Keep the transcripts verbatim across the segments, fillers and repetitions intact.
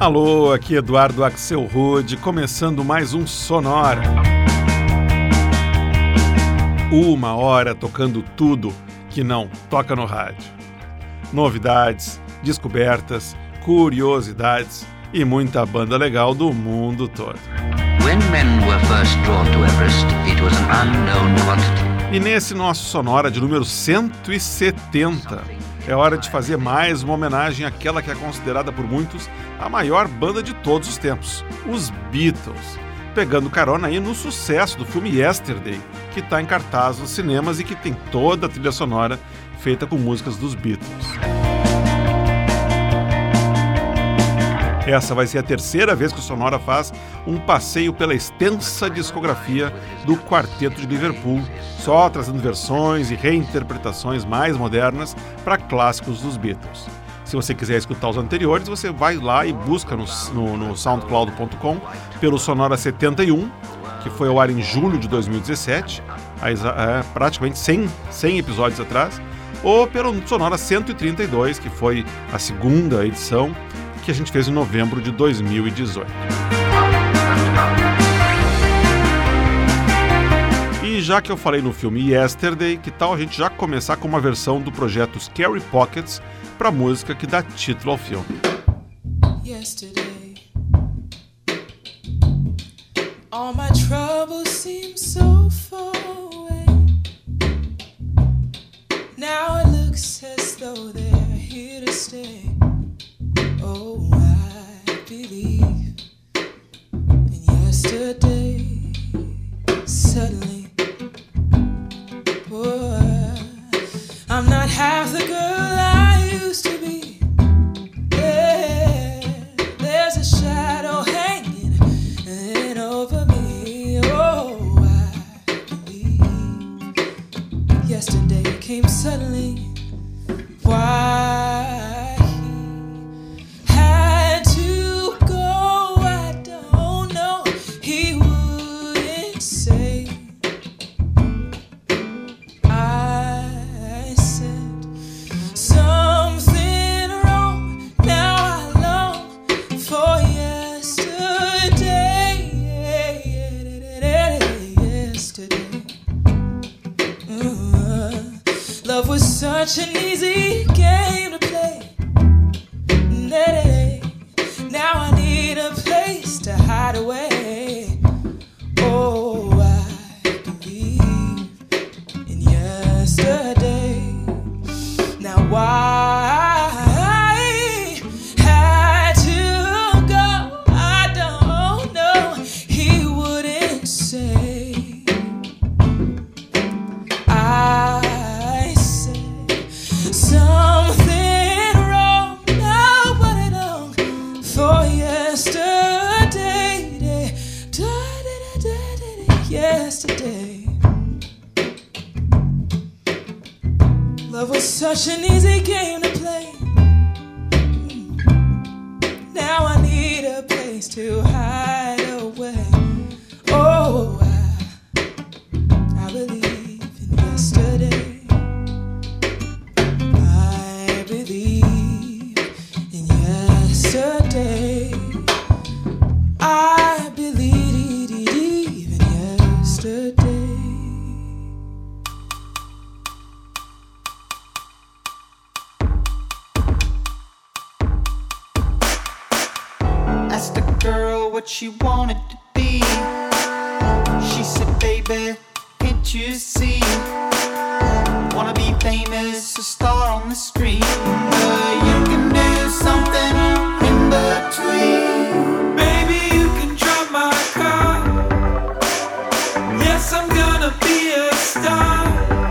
Alô, aqui Eduardo Axel Rude, começando mais um Sonora. Uma hora tocando tudo que não toca no rádio. Novidades, descobertas, curiosidades e muita banda legal do mundo todo. When men were first drawn to Everest, it was an unknown quantity. E nesse nosso Sonora de número cento e setenta, é hora de fazer mais uma homenagem àquela que é considerada por muitos a maior banda de todos os tempos, os Beatles, pegando carona aí no sucesso do filme Yesterday, que está em cartaz nos cinemas e que tem toda a trilha sonora feita com músicas dos Beatles. Essa vai ser a terceira vez que o Sonora faz um passeio pela extensa discografia do Quarteto de Liverpool, só trazendo versões e reinterpretações mais modernas para clássicos dos Beatles. Se você quiser escutar os anteriores, você vai lá e busca no, no, no soundcloud ponto com pelo Sonora setenta e um, que foi ao ar em julho de dois mil e dezessete, é, praticamente cem, cem episódios atrás, ou pelo Sonora cento e trinta e dois, que foi a segunda edição, que a gente fez em novembro de dois mil e dezoito. E já que eu falei no filme Yesterday, que tal a gente já começar com uma versão do projeto Scary Pockets para a música que dá título ao filme. Yesterday, all my troubles seem so far away. Now it looks as though they're here to stay. Oh, I believe in yesterday. Suddenly, oh, I'm not half the girl I used to be. Yeah, there's a shadow hanging in over me. Oh, I believe yesterday came suddenly. Why? Such an easy game to play. Now I need a place to hide away. Oh, I believe in yesterday. Now why I had to go, I don't know. He wouldn't say. I something wrong, nobody long for yesterday, yesterday. Love was such an easy game to play. Now I need a place to hide away. Oh, I, I believe in yesterday. Yesterday, I believe in yesterday. Asked the girl what she wanted to be. She said, baby, can't you see? Wanna be famous, a star on the screen, but you can do something in between. Baby, you can drive my car. Yes, I'm gonna be a star.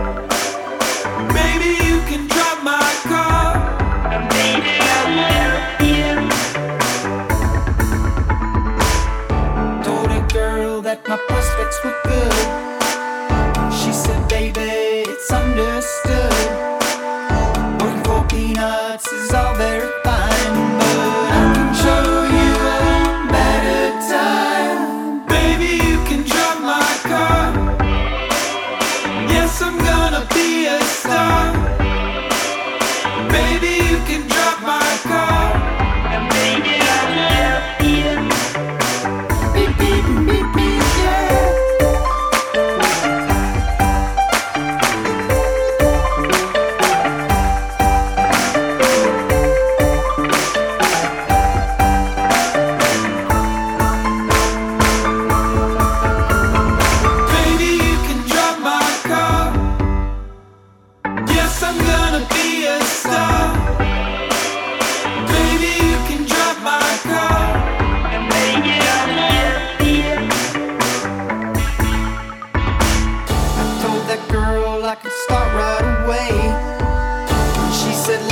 Baby, you can drive my car. Baby, I love you. Told a girl that my prospects were good. She said, baby, it's understood. Working for peanuts is all very fine, but I can show you a better time. Baby, you can drive my car. Yes, I'm gonna be a star. Baby, you can drive my car. And baby, I love you.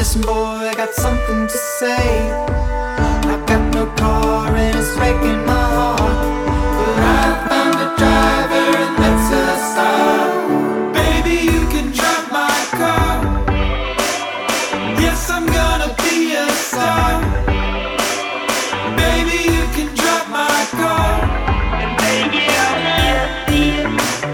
Listen boy, I got something to say. I got no car and it's breaking my heart, but I found a driver and that's a start. Baby, you can drive my car. Yes, I'm gonna be a star. Baby, you can drive my car. And baby, I'll just see you.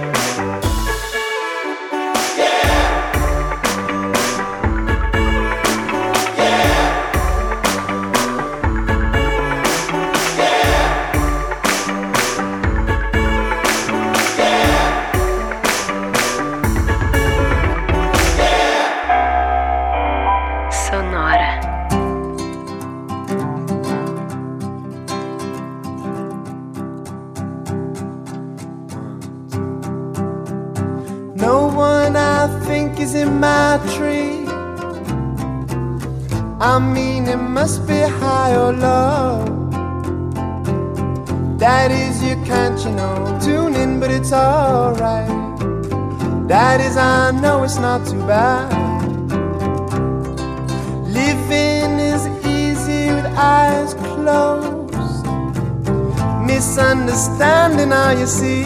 Is in my tree. I mean it must be high or low. That is you can't, you know, tune in but it's alright. That is I know it's not too bad. Living is easy with eyes closed. Misunderstanding how you see.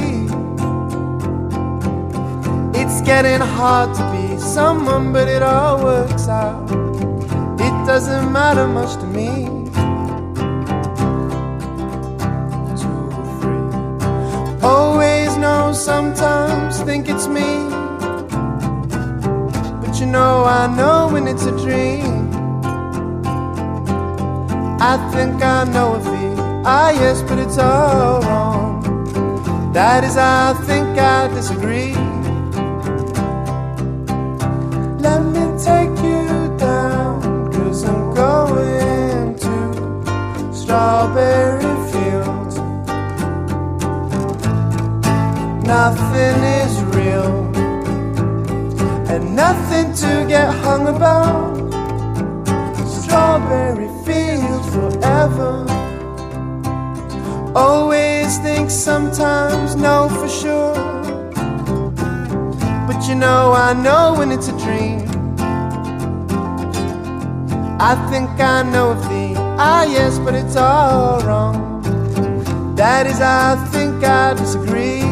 It's getting hard to be someone, but it all works out. It doesn't matter much to me. Two, three. Always know, sometimes think it's me, but you know I know when it's a dream. I think I know a feel, ah yes, but it's all wrong. That is I think I disagree. Let me take you down, 'cause I'm going to strawberry fields. Nothing is real and nothing to get hung about. Strawberry fields forever. Always think, sometimes know for sure. But you know I know when it's a dream. I think I know of thee, ah yes, but it's all wrong. That is I think I disagree.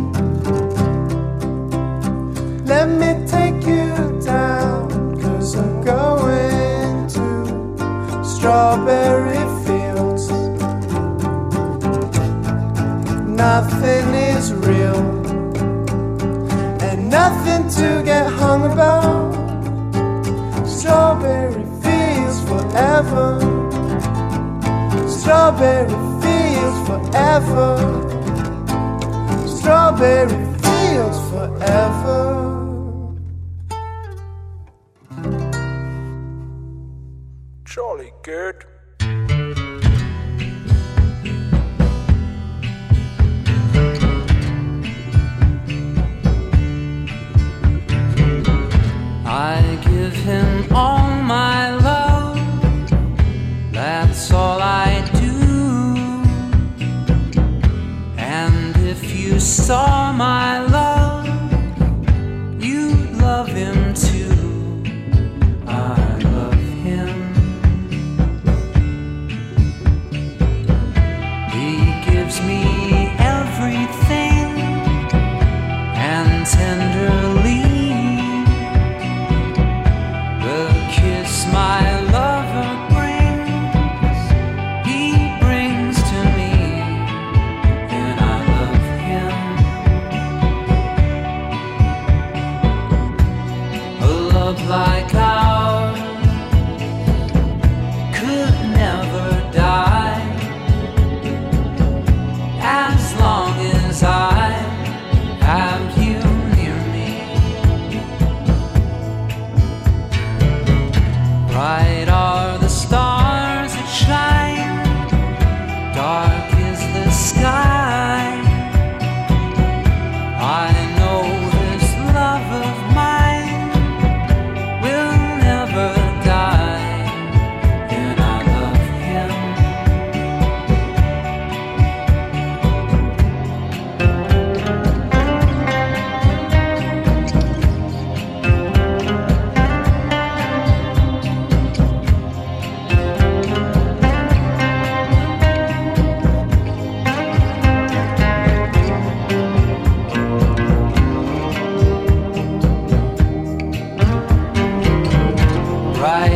Let me take you down, 'cause I'm going to strawberry fields. Nothing is real and nothing to get hung about. Strawberry fields forever. Strawberry fields forever. Strawberry fields forever. Jolly good. I give him all my love, that's all I do. And if you saw my love, you'd love him too. I love him. He gives me everything, and tenderly my lover brings, he brings to me, and I love him. A love like ours could never die, as long as I have you near me. Bright are the stars that shine, dark is the sky. I know this love of mine will never die, and I love him.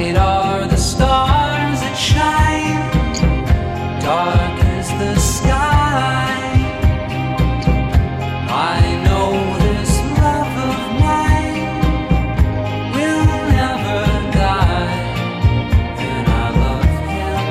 Bright are the stars that shine, dark is the sky. I know this love of mine will never die, and I love him.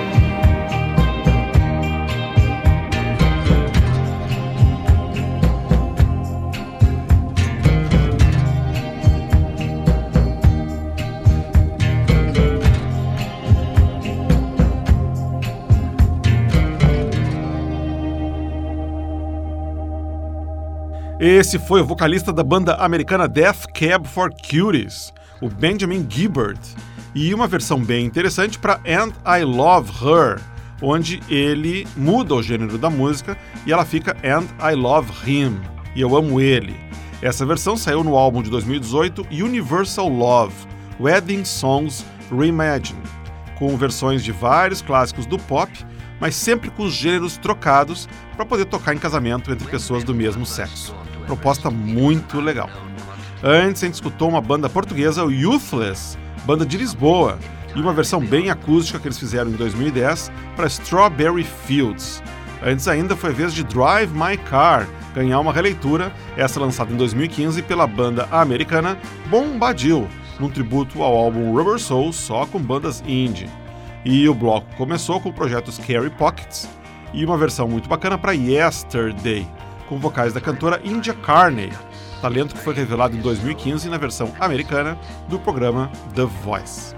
Esse foi o vocalista da banda americana Death Cab for Cuties, o Benjamin Gibbard, e uma versão bem interessante para And I Love Her, onde ele muda o gênero da música e ela fica And I Love Him, e eu amo ele. Essa versão saiu no álbum de dois mil e dezoito Universal Love, Wedding Songs Reimagined, com versões de vários clássicos do pop, mas sempre com os gêneros trocados para poder tocar em casamento entre pessoas do mesmo sexo. Proposta muito legal. Antes a gente escutou uma banda portuguesa, o Youthless, banda de Lisboa, e uma versão bem acústica que eles fizeram em dois mil e dez para Strawberry Fields. Antes ainda foi a vez de Drive My Car ganhar uma releitura, essa lançada em dois mil e quinze pela banda americana Bombadil, num tributo ao álbum Rubber Soul só com bandas indie. E o bloco começou com o projeto Scary Pockets e uma versão muito bacana para Yesterday, com vocais da cantora India Carney, talento que foi revelado em dois mil e quinze na versão americana do programa The Voice.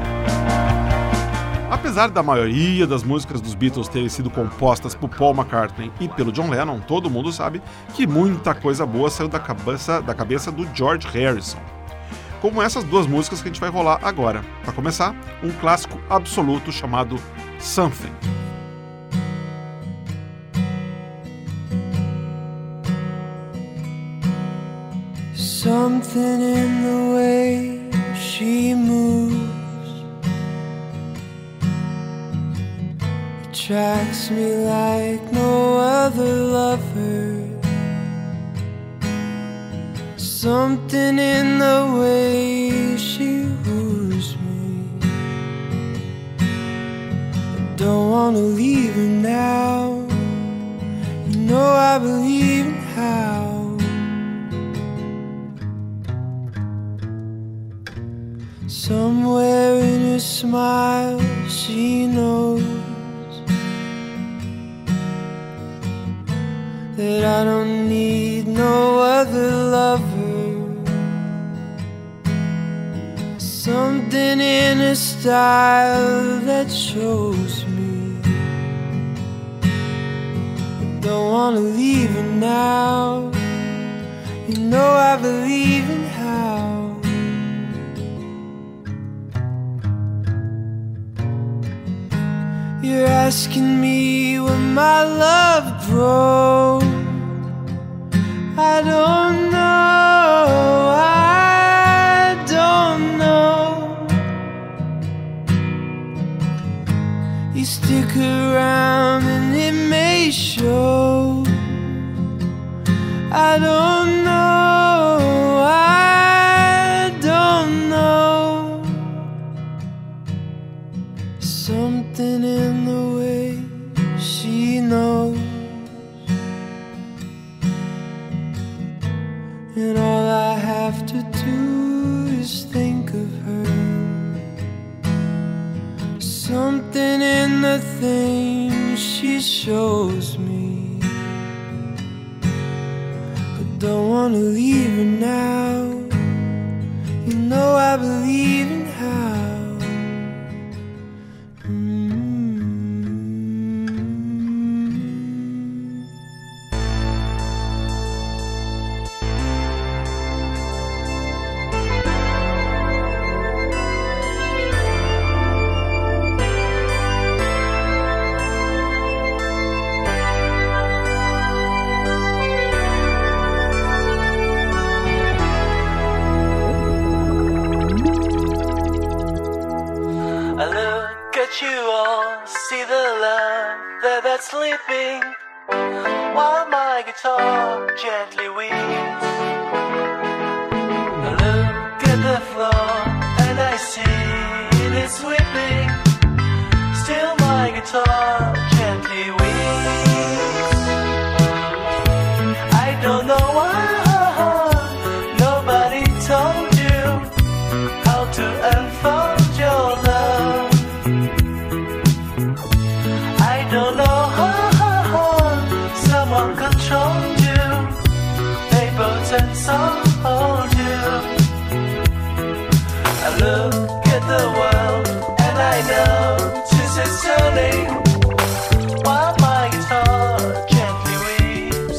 Apesar da maioria das músicas dos Beatles terem sido compostas por Paul McCartney e pelo John Lennon, todo mundo sabe que muita coisa boa saiu da cabeça, da cabeça do George Harrison. Como essas duas músicas que a gente vai rolar agora. Para começar, um clássico absoluto chamado Something. Something in the way she moves attracts me like no other lover. Something in the way she woos me. I don't wanna leave her now. You know I believe in how. Somewhere in her smile she knows that I don't need no other lover. Something in her style that shows me I don't wanna leave her now. You know I believe in how. You're asking me where my love broke. I don't know, I don't know. You stick around and it may show. I don't know, I don't know. Something in the way she knows, and all I have to do is think of her. Something in the things she shows me. I don't wanna leave her now. You know I believe in how. Sleeping while my guitar gently weeps. I look at the floor and I see it is sweeping. Still my guitar gently weeps. I don't know why nobody told you how to unfold your love. I don't know how someone controlled you. They both and sold you. I look at the world and I know this is turning while my guitar gently weeps.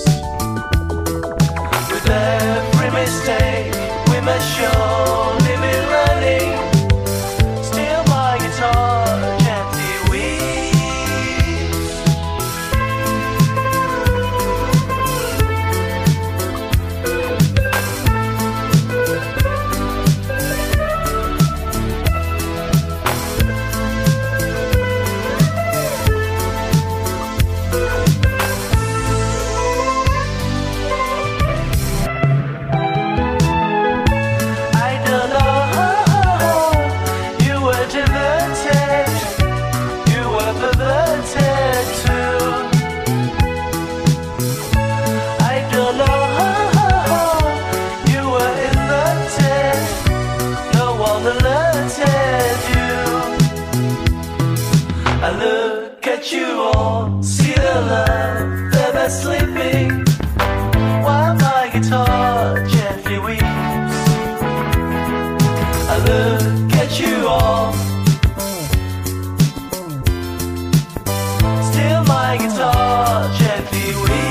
With every mistake we must surely be learning. Still my guitar gently weeps. I don't know how you were diverted, you were perverted too. I don't know how you were alerted, no one alerted you. I look at you all, see the love that is sleeping, while my guitar gently weeps. I look at you all, still my guitar gently weeps.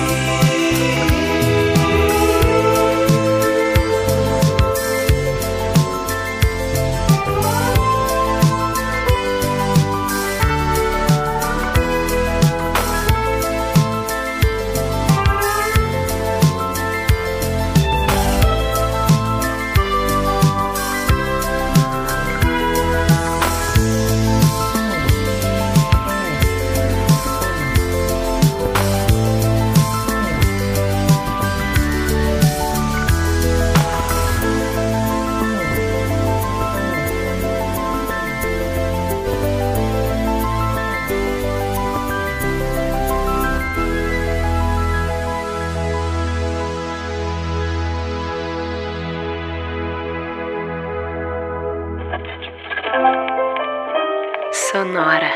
Sonora.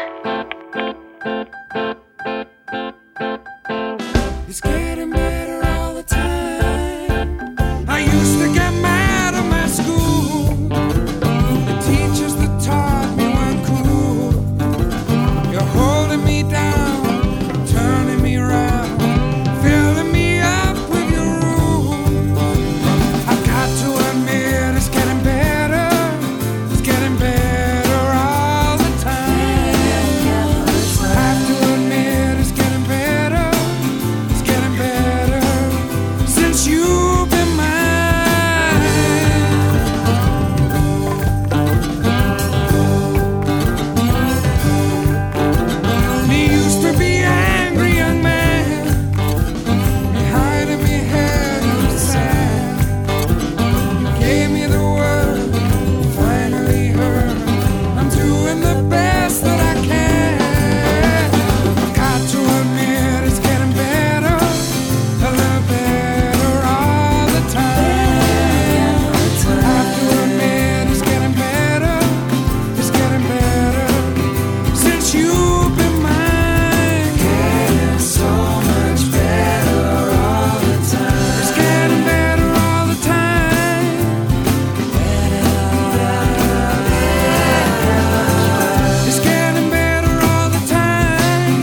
It's getting better all the time. I used to get mad at my school. The teachers that taught me weren't cool. You're holding me down, turning me around, filling me up with your rules. I've got to admit it's getting better. It's getting better all the time. I have to admit it's getting better. It's getting better since you've been mine. Me used to be angry young man, me hiding me head in the sand. You gave me the word, finally heard. I'm doing the best that I can. I've got to admit it's getting better, a little better all the time. I have to admit it's getting better, it's getting better since you've been mine. Getting so much better all the time. It's getting better all the time. It's getting better all the time.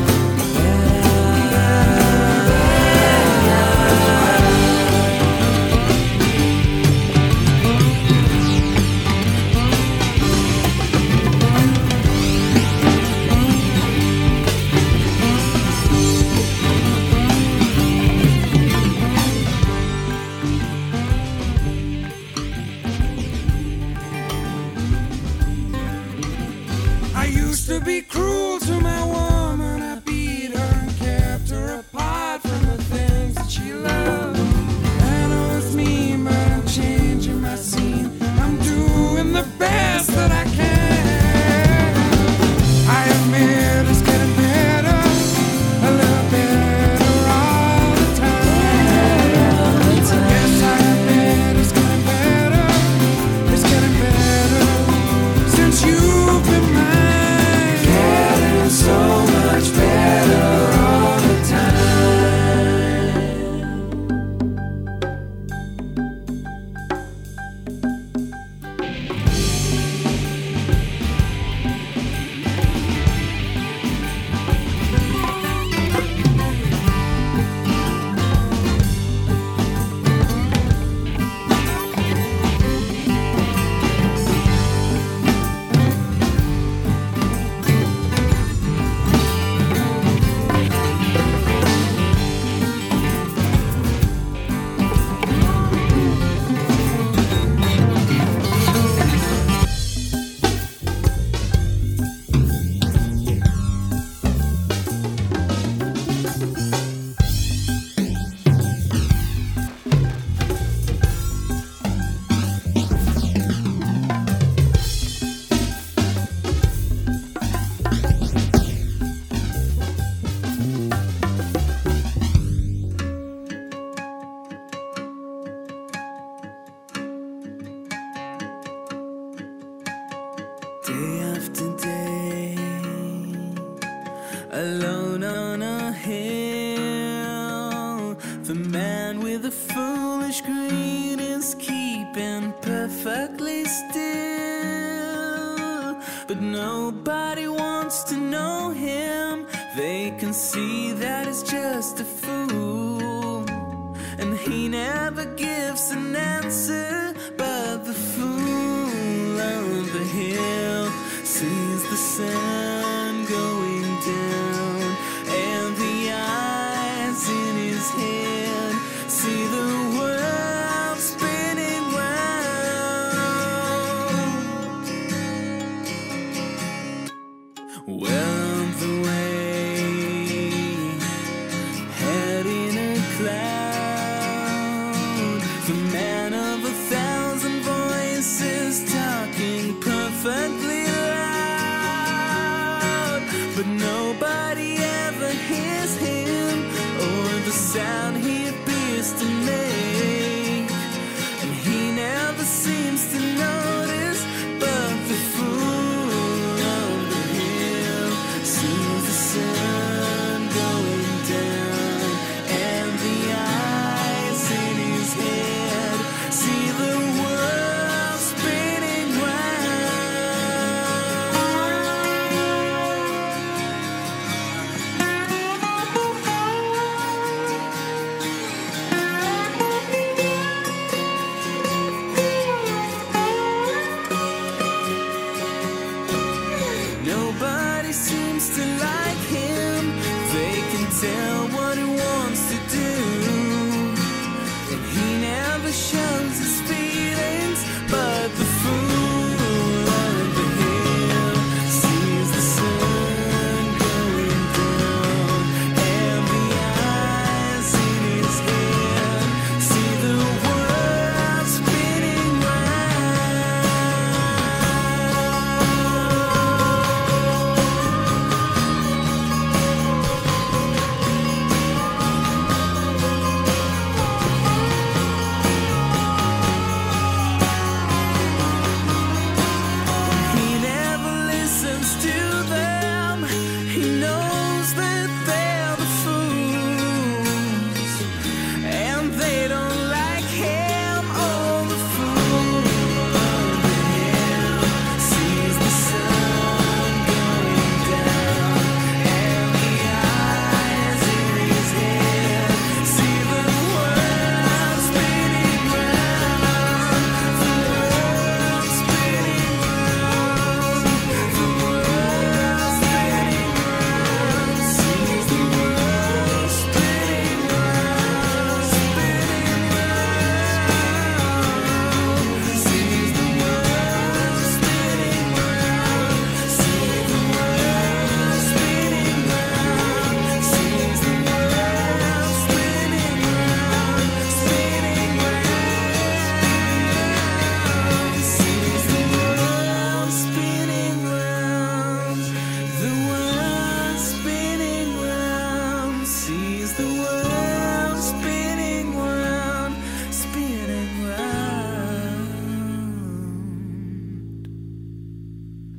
I used to be cruel to my woman. I beat her and kept her apart from the things that she loved. I know it's mean, but I'm changing my scene. I'm doing the best that I can. once you've been mine, getting so much better all the time. Day after day, alone on a hill, the man with the foolish greed is keeping perfectly still. But nobody wants to know him. They can see that he's just a fool, and he never gives an answer. But the fool on the hill sees the sun going down, and the eyes in his head see the world spinning round. Well on the way, head in a cloud, the man of a thousand voices talking perfectly loud, but nobody ever hears him or the sound he appears to make, and he never seems to notice. But the fool on the hill sees the sun going down, and the eyes in his head see the world spinning Nobody seems to like him. They can tell what he wants to do, and he never shows his feelings. But the fool on the hill sees the sun going down, and the eyes in his head see the world spinning round.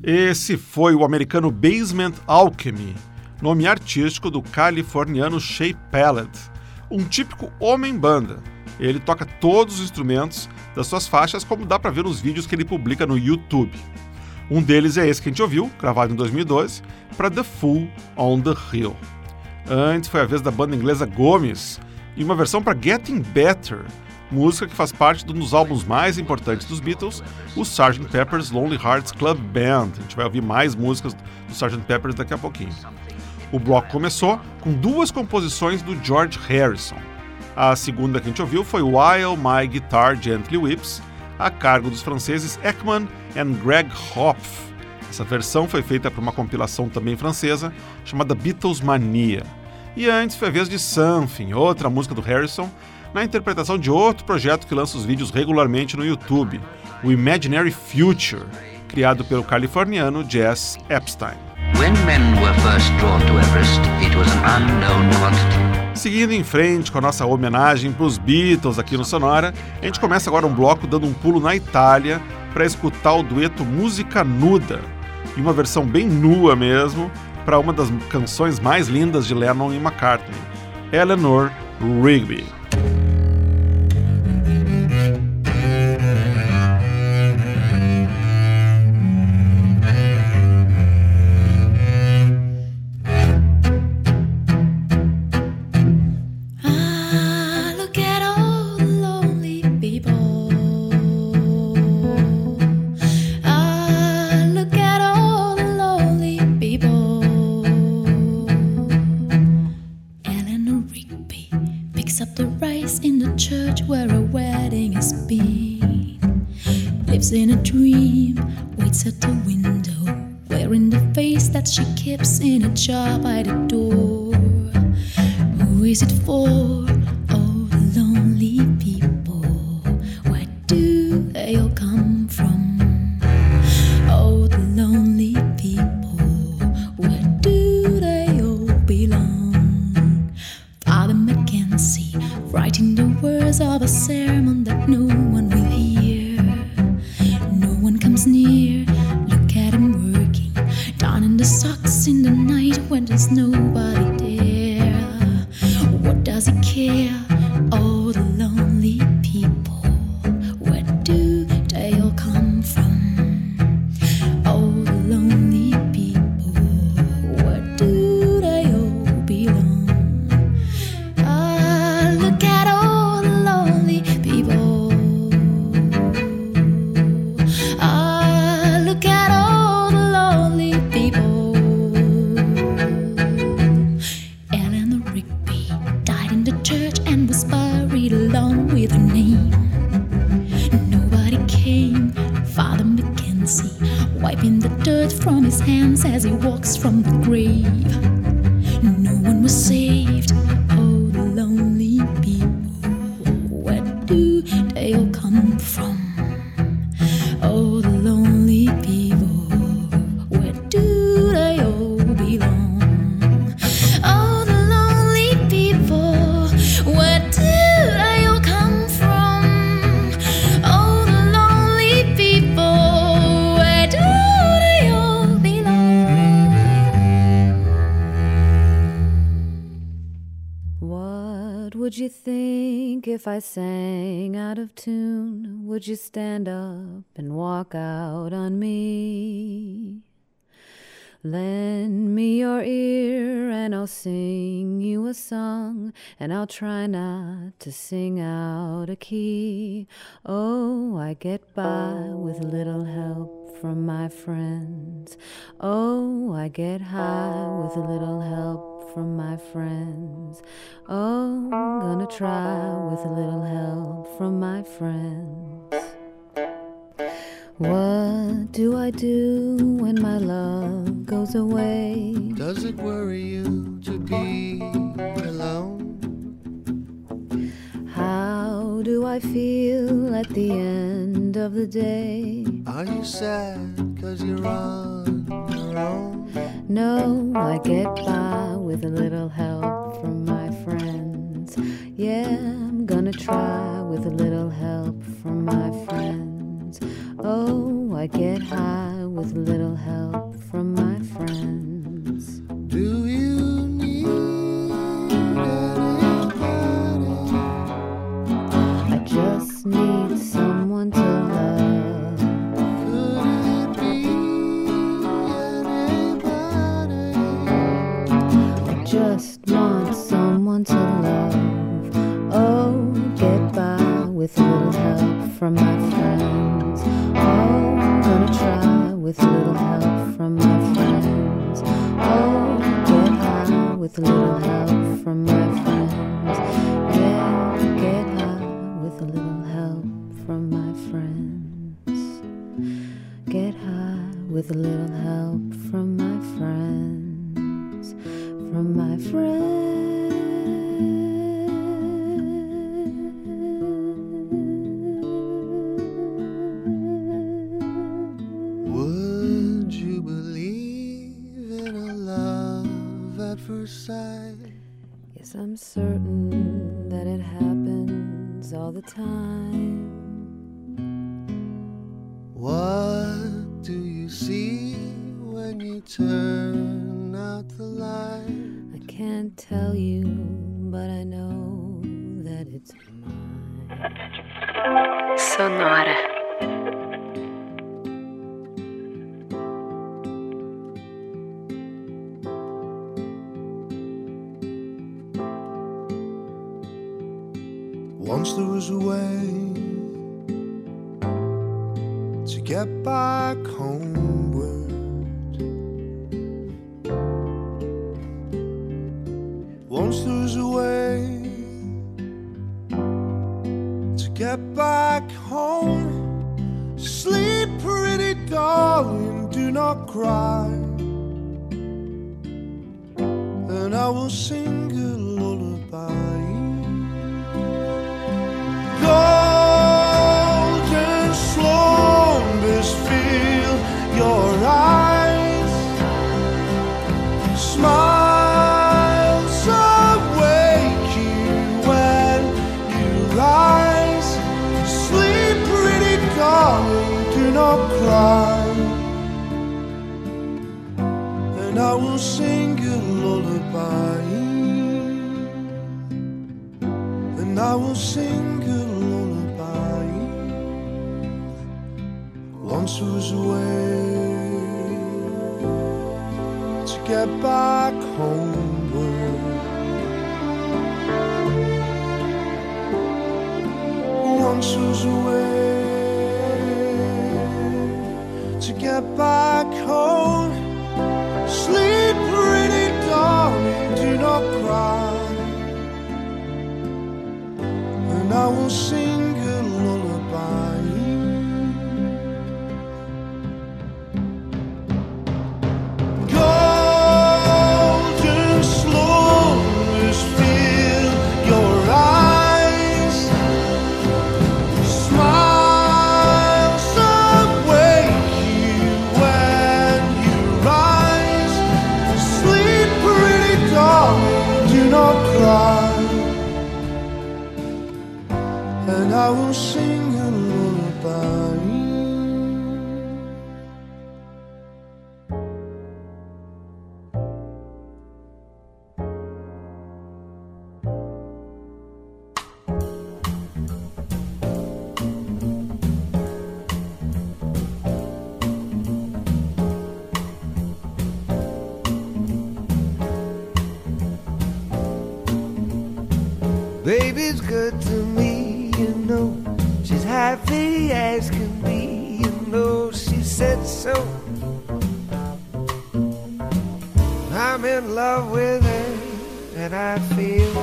Esse foi o americano Basement Alchemy, nome artístico do californiano Shea Pellet, um típico homem-banda. Ele toca todos os instrumentos das suas faixas, como dá para ver nos vídeos que ele publica no YouTube. Um deles é esse que a gente ouviu, gravado em dois mil e doze, para The Fool on the Hill. Antes foi a vez da banda inglesa Gomes, e uma versão para Getting Better, música que faz parte de um dos álbuns mais importantes dos Beatles, o sergeant Pepper's Lonely Hearts Club Band. A gente vai ouvir mais músicas do sergeant Pepper's daqui a pouquinho. O bloco começou com duas composições do George Harrison. A segunda que a gente ouviu foi While My Guitar Gently Weeps, a cargo dos franceses Ekman e Greg Hopf. Essa versão foi feita para uma compilação também francesa, chamada Beatles Mania. E antes foi a vez de Something, outra música do Harrison, na interpretação de outro projeto que lança os vídeos regularmente no YouTube, o Imaginary Future, criado pelo californiano Jess Epstein. When men were first drawn to Everest, it was an unknown quantity. Seguindo em frente com a nossa homenagem para os Beatles aqui no Sonora, a gente começa agora um bloco dando um pulo na Itália para escutar o dueto Música Nuda, e uma versão bem nua mesmo, para uma das canções mais lindas de Lennon e McCartney, Eleanor Rigby. In a dream, waits at the window, wearing the face that she keeps in a jar by the door. Who is it for? Oh, the lonely people. Where do they all come from? Oh, the lonely people. Where do they all belong? Father Mackenzie, writing the words of a sermon that no one will hear. Comes near, look at him working, down in the socks in the night when there's nobody there. What does he care? Oh, the lonely people. Where do they all come from? Oh, the lonely people. Where do they all belong? Ah, look at all the lonely people. With her name, nobody came. Father Mackenzie, wiping the dirt from his hands as he walks from the grave. No one was saved. Oh, the lonely people. Where do they all come from? Oh, the lonely people. Where do they all belong? Oh, the lonely people. Where do would you think if I sang out of tune? Would you stand up and walk out on me? Lend me your ear and I'll sing you a song, and I'll try not to sing out of key. Oh, I get by with a little help from my friends. Oh, I get high with a little help from my friends. Oh, I'm gonna try with a little help from my friends. What do I do when my love goes away? Does it worry you to be alone? How do I feel at the end of the day? Are you sad 'cause you're on your own? No, I get by with a little help from my friends. Yeah, I'm gonna try with a little help from my friends. Oh, I get high with little help from my friends. Do you need anybody? I just need someone to love. Could it be anybody? I just want someone to love. Oh, get by with little help from my friends. Oh, I'm gonna try with little help from my friends. Oh, get high with little help from my friends. Yeah, get high with a little help from my friends. Get high with a little help from my friends. From my friends. Would you believe in a love at first sight? Yes, I'm certain that it happens all the time. What do you see when you turn out the light? I can't tell you, but I know that it's mine. Sonora. Once there was a way to get back homeward. Once there was a way to get back home. Sleep, pretty darling, do not cry, and I will sing a lullaby. Golden slumbers fill your eyes, smiles awake you when you rise. Sleep, pretty darling, do not cry, and I will sing a lullaby, and I will sing a lullaby. Once was a way to get back homeward. Once was a way to get back home. Sleep, pretty darling, do not cry, and I will sing a lullaby. Golden slumbers fill your eyes, smiles awake you when you rise. Sleep, pretty darling, do not cry, and I will sing a lullaby. Baby's good to me, you know. She's happy as can be, you know. She said so. I'm in love with her, and I feel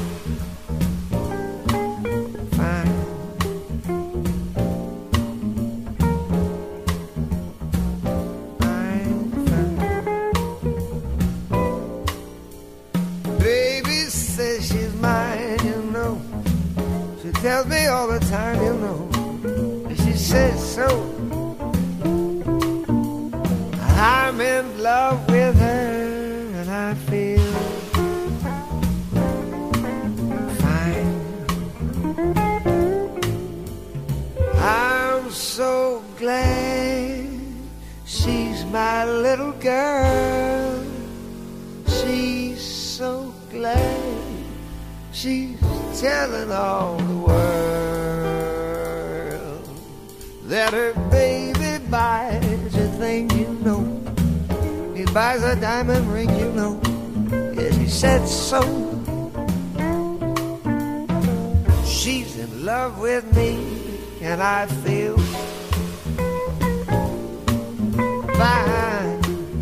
fine. I'm fine. Baby says she's mine, you know. She tells me all the time, you know. She says so. I'm in love with her, and I feel fine. I'm so glad little girl. She's so glad. She's telling all the world that her baby buys everything, you know. He buys a diamond ring, you know. Yes, he said so. She's in love with me, and I feel fine.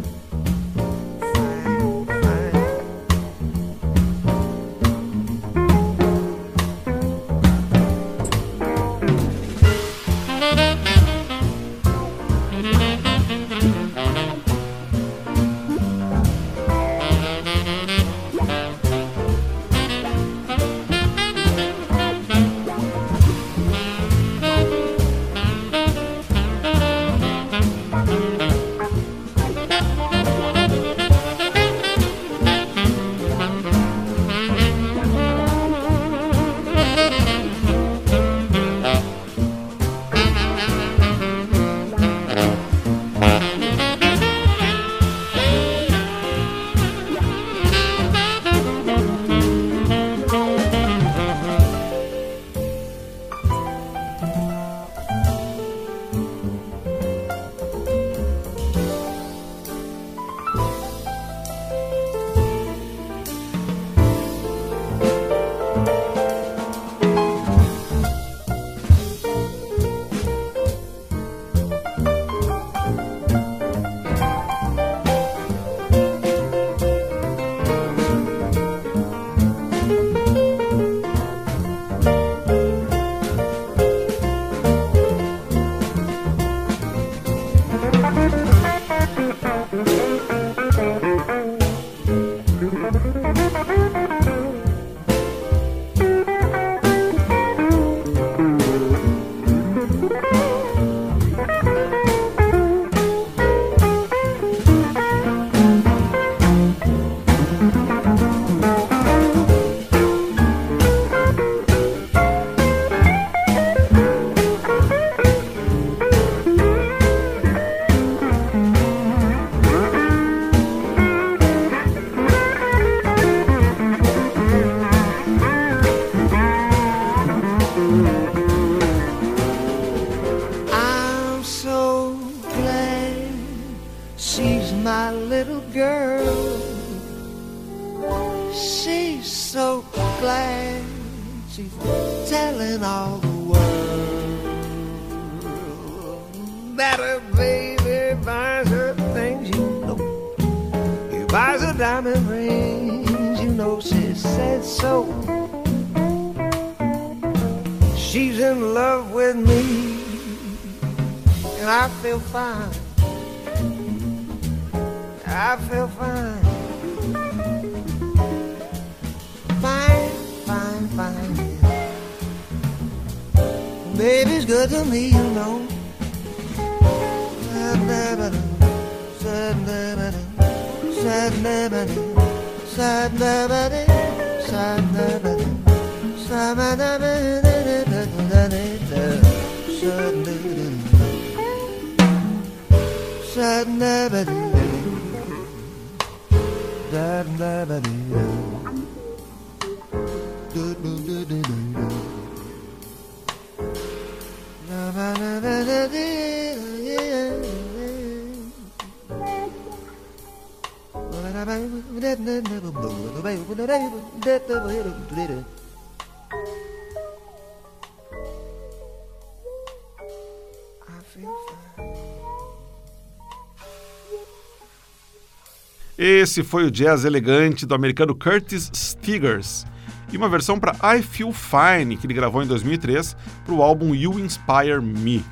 Esse foi o jazz elegante do americano Curtis Stigers e uma versão para I Feel Fine que ele gravou em dois mil e três para o álbum You Inspire Me.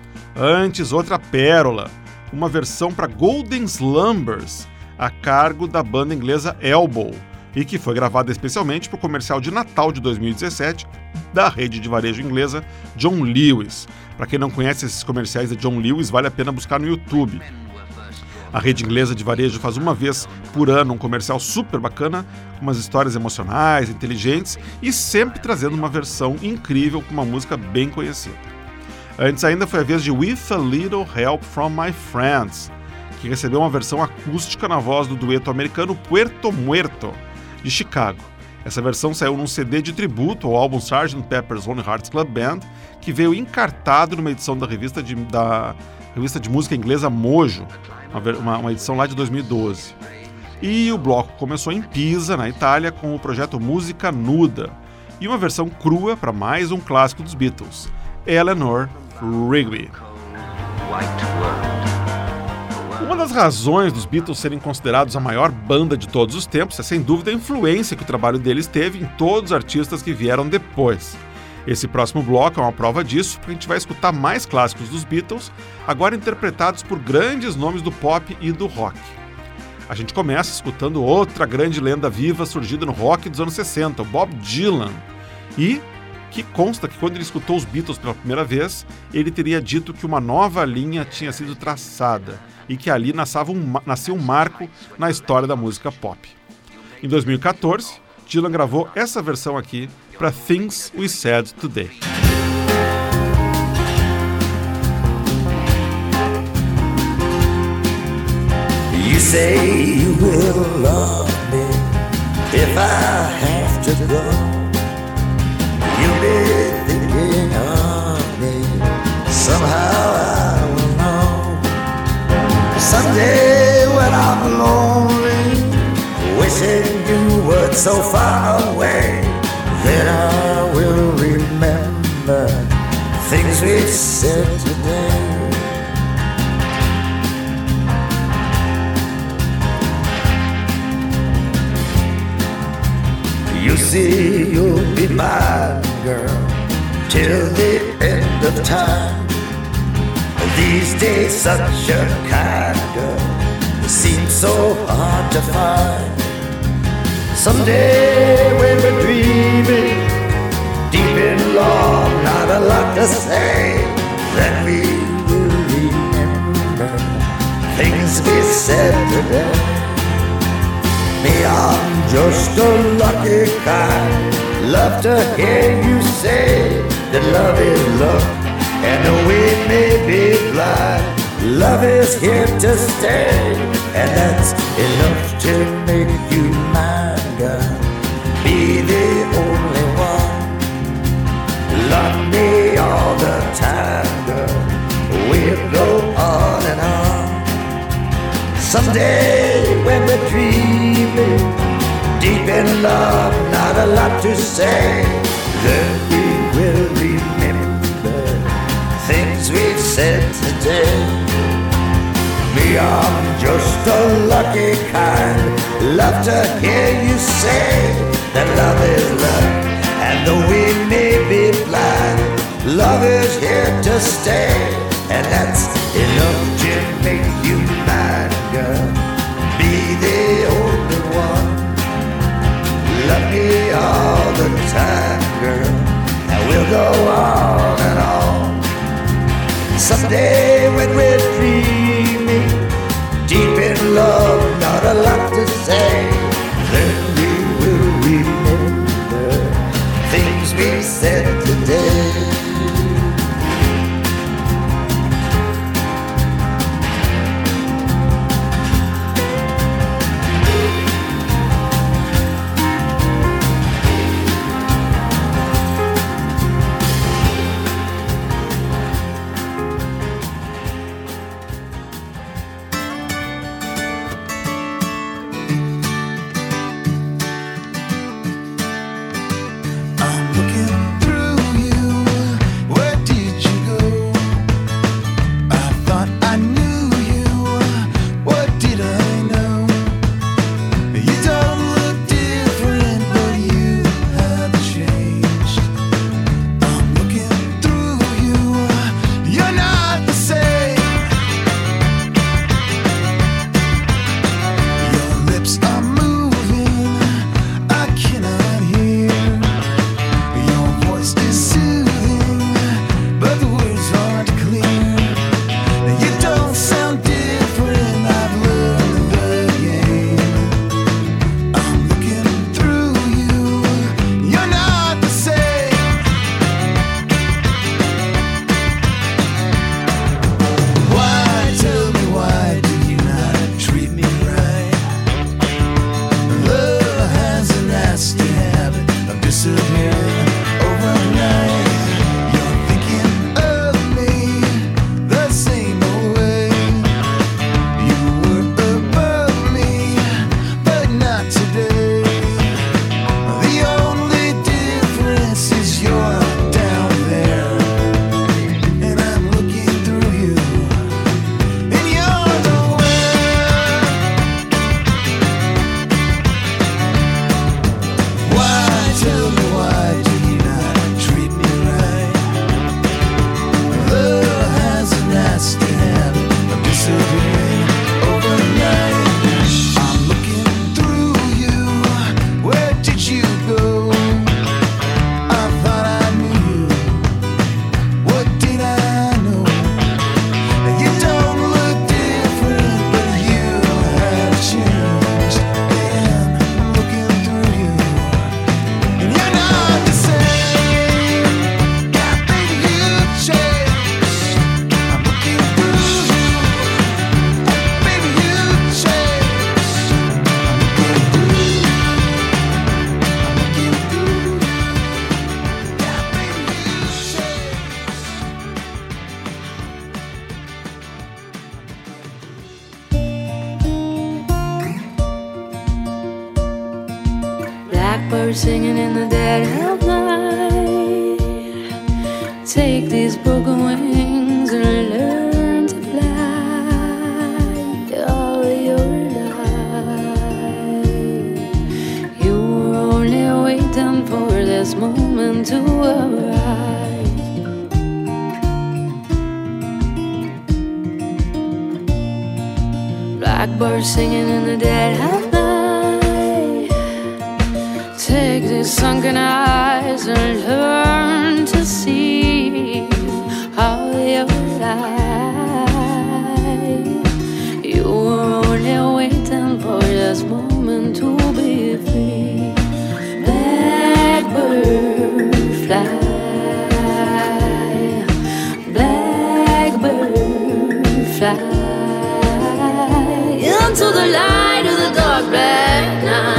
Antes, outra pérola, uma versão para Golden Slumbers, a cargo da banda inglesa Elbow, e que foi gravada especialmente para o comercial de Natal de dois mil e dezessete da rede de varejo inglesa John Lewis. Para quem não conhece esses comerciais da John Lewis, vale a pena buscar no YouTube. A rede inglesa de varejo faz uma vez por ano um comercial super bacana, com umas histórias emocionais, inteligentes e sempre trazendo uma versão incrível com uma música bem conhecida. Antes ainda foi a vez de With a Little Help from My Friends, que recebeu uma versão acústica na voz do dueto americano Puerto Muerto, de Chicago. Essa versão saiu num C D de tributo ao álbum sergeant Pepper's Lonely Hearts Club Band, que veio encartado numa edição da revista de, da revista de música inglesa Mojo, uma, uma edição lá de dois mil e doze. E o bloco começou em Pisa, na Itália, com o projeto Música Nuda, e uma versão crua para mais um clássico dos Beatles, Eleanor Rigby. Uma das razões dos Beatles serem considerados a maior banda de todos os tempos é sem dúvida a influência que o trabalho deles teve em todos os artistas que vieram depois. Esse próximo bloco é uma prova disso, porque a gente vai escutar mais clássicos dos Beatles, agora interpretados por grandes nomes do pop e do rock. A gente começa escutando outra grande lenda viva surgida no rock dos anos sessenta, o Bob Dylan, e que consta que quando ele escutou os Beatles pela primeira vez, ele teria dito que uma nova linha tinha sido traçada e que ali nascia um, nascia um marco na história da música pop. Em dois mil e quatorze, Dylan gravou essa versão aqui para Things We Said Today. You say you will love me if I have to go. You'll be thinking of me, somehow I will know. Someday when I'm lonely, wishing you were so far away, then I will remember things we said today. You see, you'll be mine, girl, till the end of time. These days, such a kind girl seems so hard to find. Someday, when we're dreaming, deep in love, not a lot to say, then we will remember things we said today. Me, I'm just a lucky kind. Love to hear you say that love is love, and though we may be blind, love is here to stay, and that's enough to make you mine, girl. Be the only one. Love me all the time, girl. We'll go on and on. Someday when we're dreaming, deep in love, not a lot to say, then we will remember things we've said today. Me, I'm just a lucky kind. Love to hear you say that love is love, and though we may be blind, love is here to stay, and that's enough to make you mine, girl. Be the only one. Love me all the time, girl, and we'll go on and on. Someday when we're dreaming, deep in love, not a lot to say, then we will remember things we said today. Blackbird singing in the dead of night. Take these broken wings and learn to fly all your life. You were only waiting for this moment to arrive. Blackbird singing in the dead of night. Take these sunken eyes and learn to see how you're alive. You were only waiting for this moment to be free. Blackbird fly, blackbird fly into the light of the dark black night.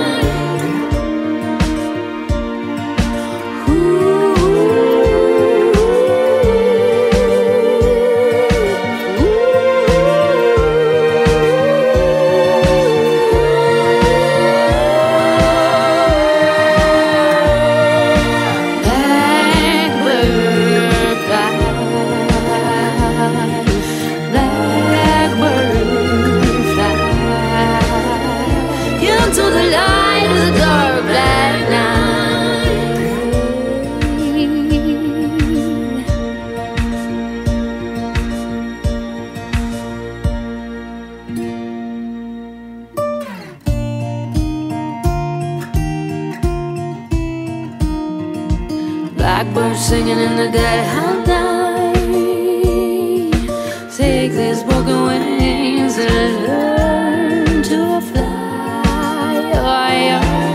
Blackbird singing in the dead of night. Take these broken wings and learn to fly while you're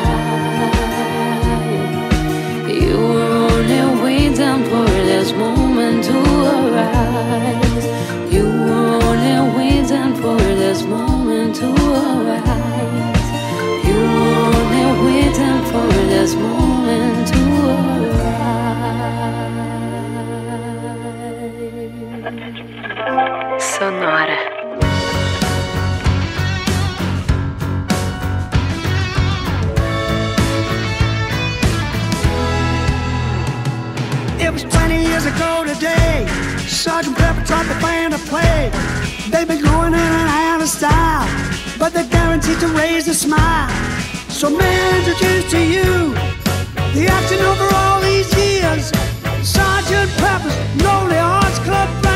alive. You were only waiting for this moment to arise. You were only waiting for this moment to arise. You were only waiting for this moment to arise. Sonora. It was twenty years ago today. Sergeant Pepper taught the band to play. They've been going in and out of style, but they're guaranteed to raise a smile. So may I introduce to you the acting over all these years, Sergeant Pepper's Lonely Hearts Club Band.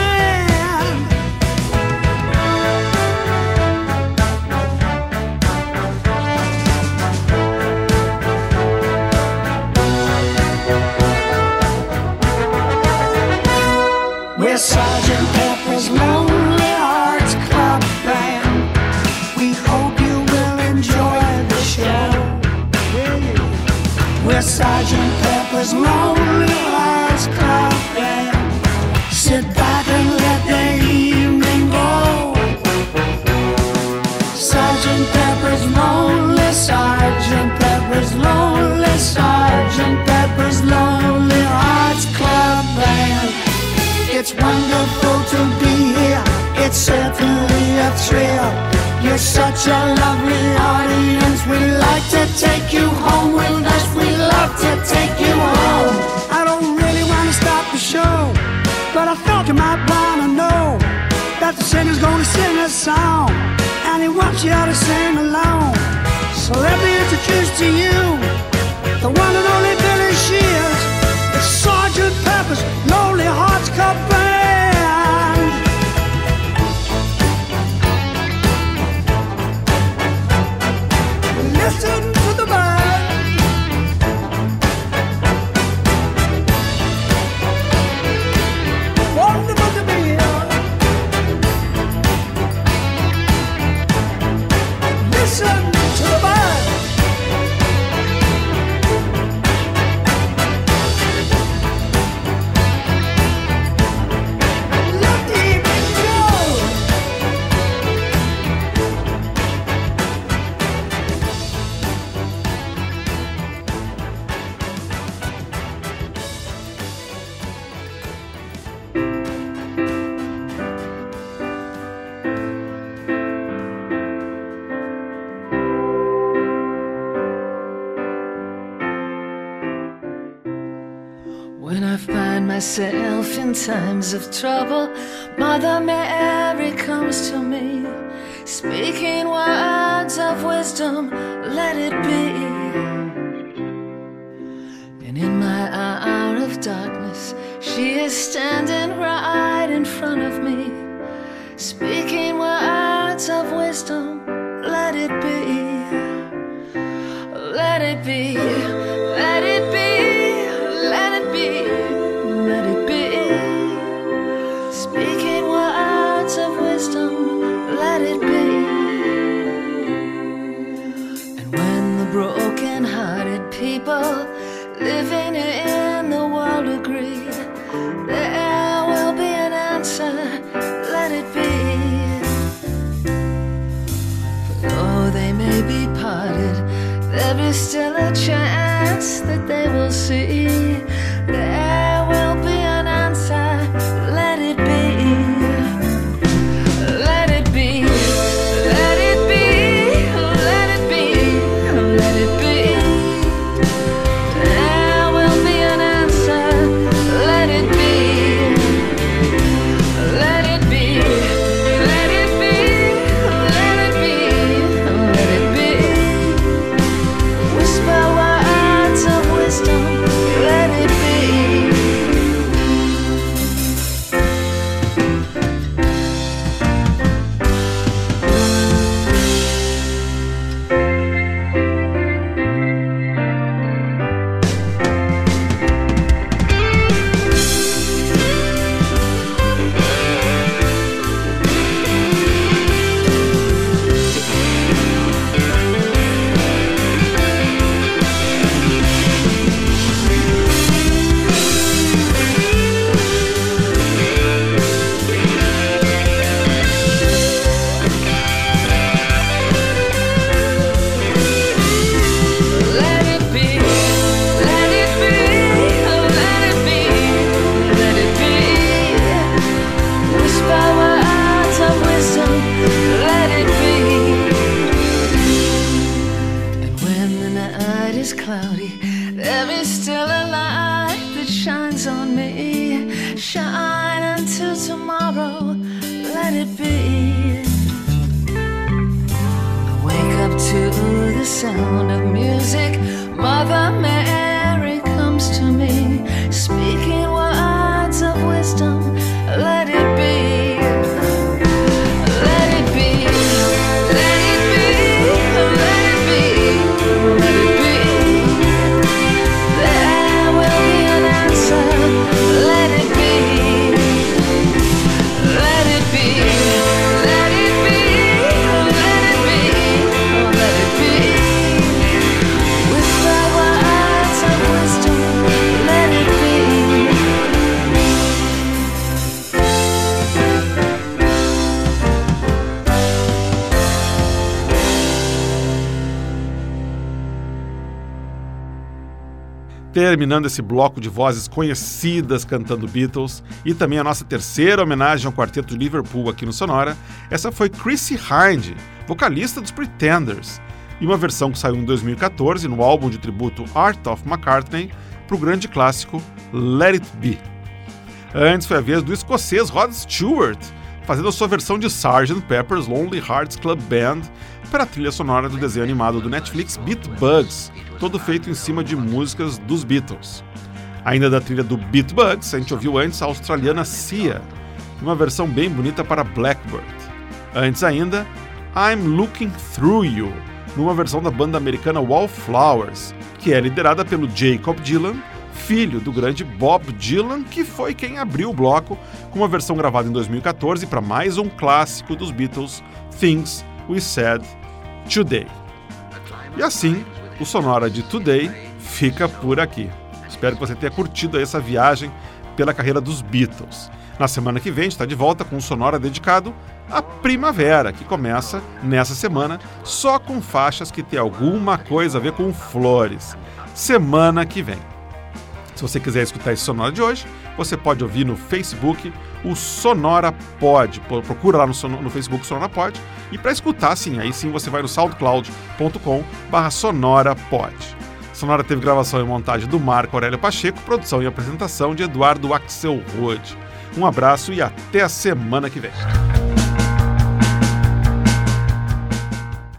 We're Sergeant Pepper's Lonely Hearts Club Band. We hope you will enjoy the show. We're Sergeant Pepper's Lonely Hearts Club Band. Sit back and let the evening go. Sergeant Pepper's Lonely, Sergeant Pepper's Lonely, Sergeant Pepper's Lonely Hearts Club Band. It's wonderful to be here. It's certainly a thrill. You're such a lovely audience. We'd like to take you home with us. We'd love to take you home. I don't really want to stop the show, but I thought you might want to know that the singer's gonna sing a song, and he wants you to sing along. So let me introduce to you the one and only Billy Shears. It's Sergeant Pepper's Lonely Hearts Club Band. Listen to the band. Wonderful to be here. Listen to the band. myself in times of trouble, Mother Mary comes to me, speaking words of wisdom, let it be. And in my hour of darkness, she is standing right in front of me, speaking words of wisdom, let it be. Let it be, let it be, let it be, let it be. Speaking words of wisdom, let it be. And when the broken-hearted people living in the world agree, there will be an answer, let it be. For though they may be parted, there is still a chance that they will see. There will be an answer, let it be. Let it be, let it be, let it be, let it be. There will be an answer, let it be. Let it be, let it be, let it be, let it be. Whisper words of wisdom, let it be. Let it be, let it be, let it be, let it be. Whisper words of wisdom, let it be. And when the night is cloudy, there is still a light that shines on me. Shine until tomorrow, let it be. I wake up to the sound of music. Mother Mary comes to me, speaking words of wisdom, let it be. Let it be, let it be, let it be, let it be. There will be an answer, let it be. Let it be, let it be, let it be, let it be. Whisper words of wisdom, let it be. Terminando esse bloco de vozes conhecidas cantando Beatles e também a nossa terceira homenagem ao quarteto de Liverpool aqui no Sonora, essa foi Chrissie Hynde, vocalista dos Pretenders, e uma versão que saiu em dois mil e catorze no álbum de tributo Art of McCartney para o grande clássico Let It Be. Antes foi a vez do escocês Rod Stewart, fazendo a sua versão de sergeant Pepper's Lonely Hearts Club Band para a trilha sonora do desenho animado do Netflix Beat Bugs, todo feito em cima de músicas dos Beatles. Ainda da trilha do Beat Bugs, a gente ouviu antes a australiana Sia, uma versão bem bonita para Blackbird. Antes ainda, I'm Looking Through You, numa versão da banda americana Wallflowers, que é liderada pelo Jacob Dylan, filho do grande Bob Dylan, que foi quem abriu o bloco com uma versão gravada em dois mil e catorze para mais um clássico dos Beatles, Things We Said Today. E assim, o Sonora de Today fica por aqui. Espero que você tenha curtido essa viagem pela carreira dos Beatles. Na semana que vem a gente está de volta com um Sonora dedicado à primavera, que começa nessa semana só com faixas que tem alguma coisa a ver com flores. Semana que vem. Se você quiser escutar esse Sonora de hoje, você pode ouvir no Facebook o Sonora Pod. Procura lá no, no Facebook Sonora Pod. E para escutar, sim, aí sim você vai no soundcloud ponto com barra sonora pod. Sonora teve gravação e montagem do Marco Aurélio Pacheco, produção e apresentação de Eduardo Axelrod. Um abraço e até a semana que vem.